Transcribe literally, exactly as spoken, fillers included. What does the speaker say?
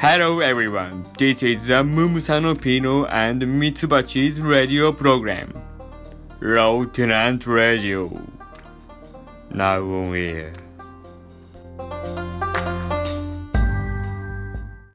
Hello everyone, this is the Mumusano Pino and Mitsubachi's radio program, Lieutenant Radio. Now on air.